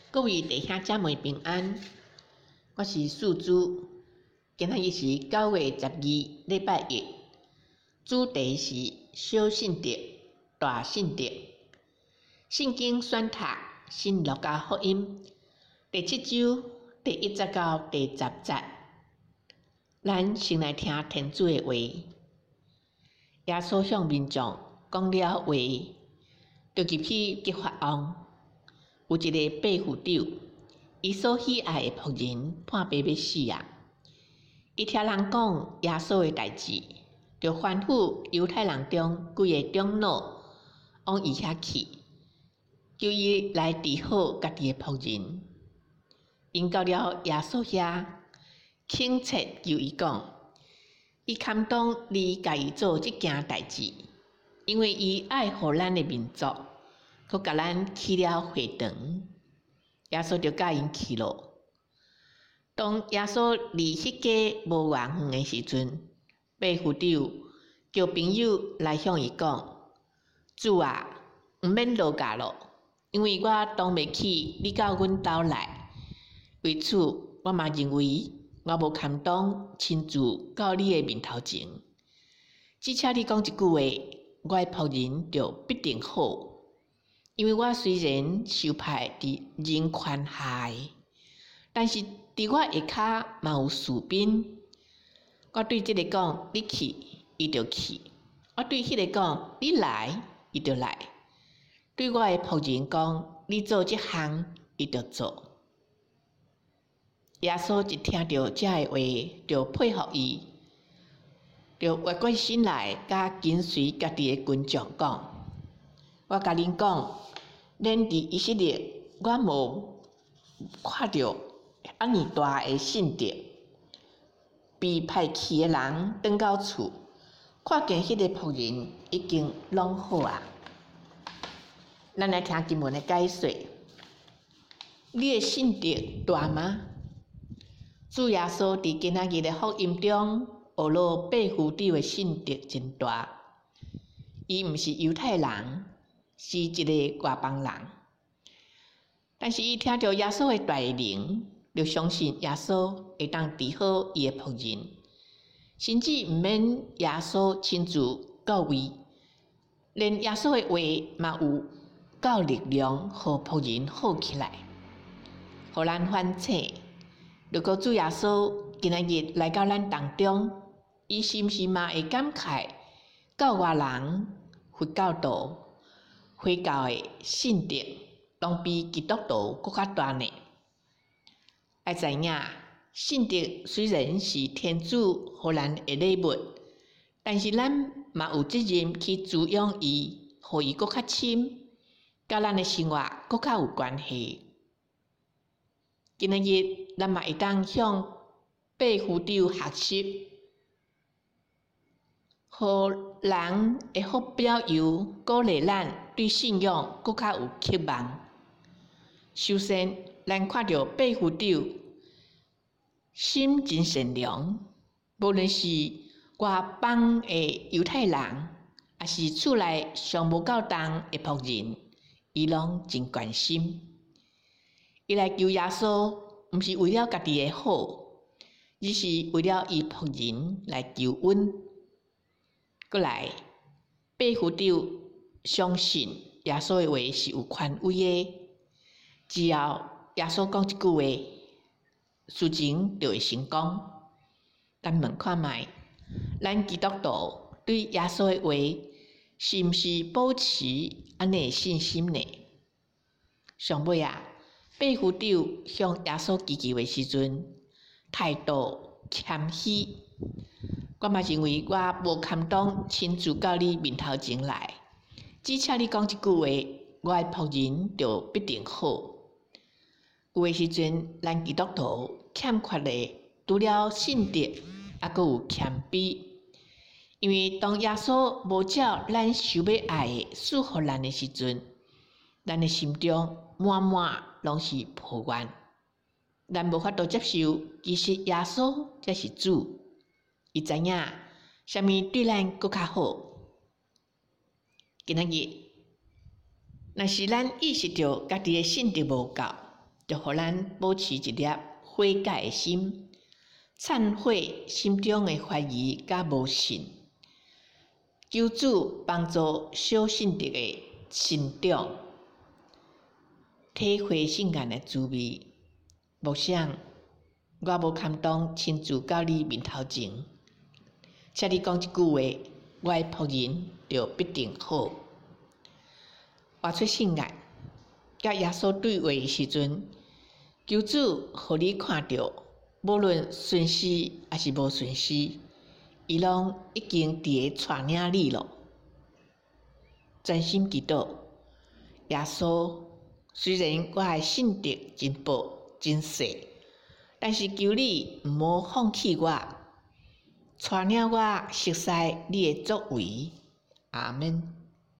各位弟兄姊妹平安，我是素珠。今仔日是9月12禮拜一，主題是小信德、大信德。聖經選讀新路加福音第7章第1節到第10節。咱先來聽天主的話。耶穌向民眾講了話，就入去激發王。有一個百夫長，伊所喜愛的僕人叛變要死啊！伊聽人講耶穌的代志，就吩咐猶太人中幾個長老往伊遐去，求伊來治好家己的僕人。因到了耶穌遐，懇切求伊講，伊堪當你家己做這件代志，因為伊愛護咱的民族。佮甲咱起了會堂，耶穌就甲因去咯。當耶穌離迄家無偌遠的時陣，百夫長叫朋友來向伊講：主啊，毋免落駕咯，因為我當袂起你到阮兜來。為此，我嘛認為我無堪當親自到你的面頭前。只請你講一句話，我的僕人就必定好。因為我雖然受派佇人群下，但是佇我下骹嘛有士兵。我對這個講，你去，伊就去；我對迄個講，你來，伊就來。對我的僕人講，你做這項，伊就做。耶穌一聽到這個話，就配合伊，就活過心來，甲跟隨家己的群眾講：我甲恁講。連佇以色列，我無看到安尼大的信德。被派去的人轉到厝，看見迄個僕人已經攏好啊。咱來聽經文的解說。你的信德大嗎？主耶穌佇今仔日的福音中，學了百夫長的信德真大。伊毋是猶太人。是一個外邦人，但是伊聽到耶穌的大能，就相信耶穌會當治好伊的僕人，甚至毋免耶穌親自到位，連耶穌的話嘛有夠力量，互僕人好起來。互咱反省，如果主耶穌今仔日來到咱當中，伊是毋是嘛會感慨教外人佛教徒？回教的信德，攏比基督徒閣較大呢。要知影，信德雖然是天主予咱的禮物，但是咱嘛有責任去滋養伊，互伊閣較深，甲咱的生活閣較有關係。今仔日，咱嘛會當向百夫長學習。互人會好表揚，鼓勵咱對信仰閣較有渴望。首先，咱看到百夫長心真善良，無論是外邦的猶太人，也是厝內尚無夠重的僕人，伊攏真關心。伊來求耶穌，毋是為了家己的好，而是為了伊僕人來求恩。過來，百夫長相信耶穌的話是有權威的，只要耶穌講一句話，事情就會成功。咱問看覓，咱基督徒對耶穌的話是毋是保持安尼的信心呢？上尾啊，百夫長向耶穌祈求的時陣，態度謙虛。我嘛認為我無堪當親自到你面頭前來，只請你講一句話，我的僕人就必定好。有的時陣，咱基督徒欠缺的除了信德，也閣有謙卑。因為當耶穌無照咱想要愛的賜予咱的時陣，咱的心中滿滿攏是抱怨，咱無法度接受，其實耶穌才是主。伊知影啥物對咱閣較好。今仔日，若是咱意識到家己的信德無夠， 就互咱保持一粒悔改的心，懺悔心中的懷疑甲無信，求主幫助小信德的成長，體會聖言的滋味。默想我無堪當親自到你面頭前，請你講一句話，我的僕人就必定好。活出聖言，甲耶穌對話的時陣，求主互你看到，無論順時還是無順時，伊攏已經佇個帶領你咯。專心祈禱，耶穌，雖然我的信德真薄真細，但是求你毋好放棄我，帶領我熟悉你的作為。阿們。